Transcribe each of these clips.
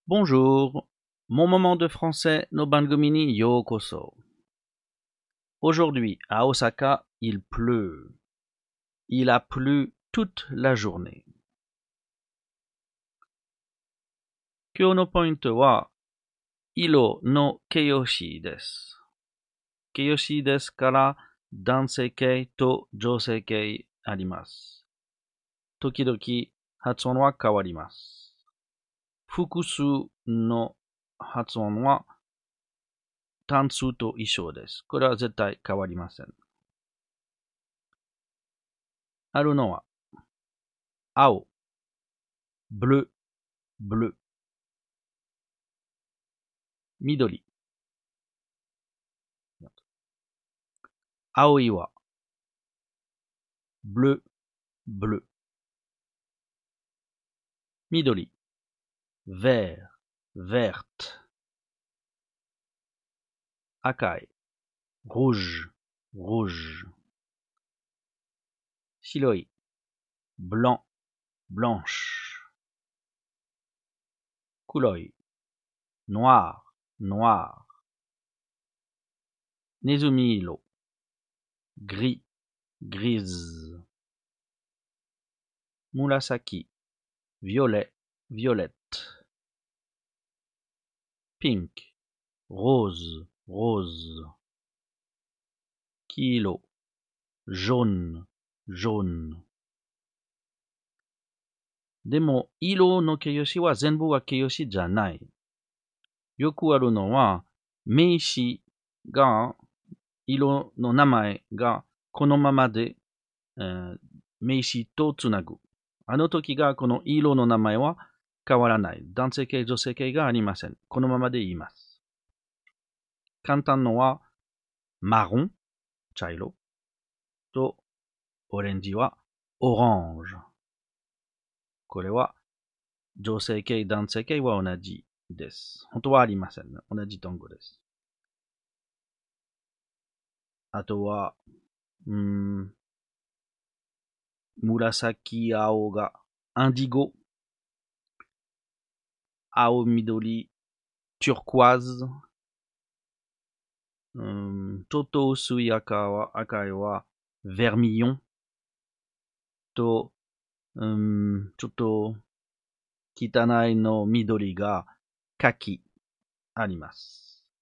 Bonjour, mon moment de français no Bangomi ni Yokoso. Aujourd'hui, à Osaka, il pleut. Il a plu toute la journée. Kyou no pointo wa iro no keiyoshi desu. Keiyoshi desu kara dansei-kei to jousei-kei arimasu. Tokidoki hatsuon wa kawarimasu. Fukusu no hatsuon wa tansu to ishou desu. Kore wa zettai kawarimasen. Aru no wa ao, bleu, bleu. Midori. Aoi wa bleu, bleu. Midori. Vert, verte. Akai. Rouge, rouge. Shiroi. Blanc, blanche. Kuroi. Noir, noir. Nezumi-iro. Gris, grise. Murasaki. Violet, violette. Pink. Rose, rose. Kilo. Jaune, jaune. Demo, iro no keiyoshi wa zenbu wa keiyoshi janai. Yoku aru no wa, meishi ga, iro no namae ga, kono mama de, meishi to tsunagu. Ano toki ga, kono iro no namae wa, kawaranai. Dansei-kei, jousei-kei ga arimasen. Kono mama de iimasu. Kantan no wa, marron, chairo, to, orange wa, orange. Kore wa, jousei-kei, dansei-kei wa onaji desu. Honto wa arimasen. Onaji tongo desu. Ato wa, murasaki ao ga indigo. Ao midori turquoise. Choto usui akai wa vermillon. To, choto kitanai no midori ga kaki arimasu.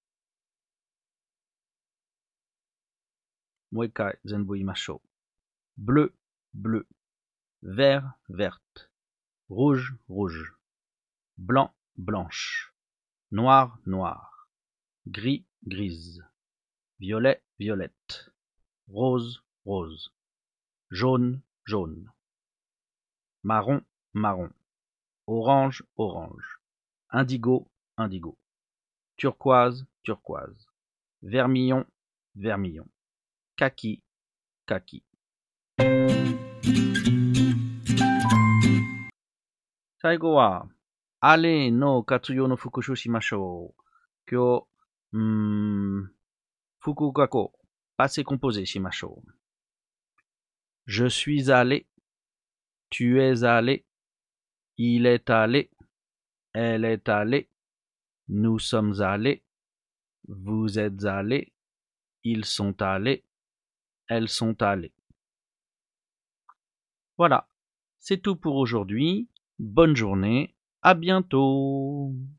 Moikai zenbu imashou. Bleu, bleu. Vert, verte. Rouge, rouge. Blanc, blanche. Noir, noir. Gris, grise. Violet, violette. Rose, rose. Jaune, jaune. Marron, marron. Orange, orange. Indigo, indigo. Turquoise, turquoise. Vermillon, vermillon. Kaki, kaki. 最後は、あれの活用の復習しましょう。今日、複合語、passé composé しましょう。Je suis allé, tu es allé, il est allé, elle est allée, nous sommes allés, vous êtes allés, ils sont allés, elles sont allées. Voilà, c'est tout pour aujourd'hui. Bonne journée, à bientôt.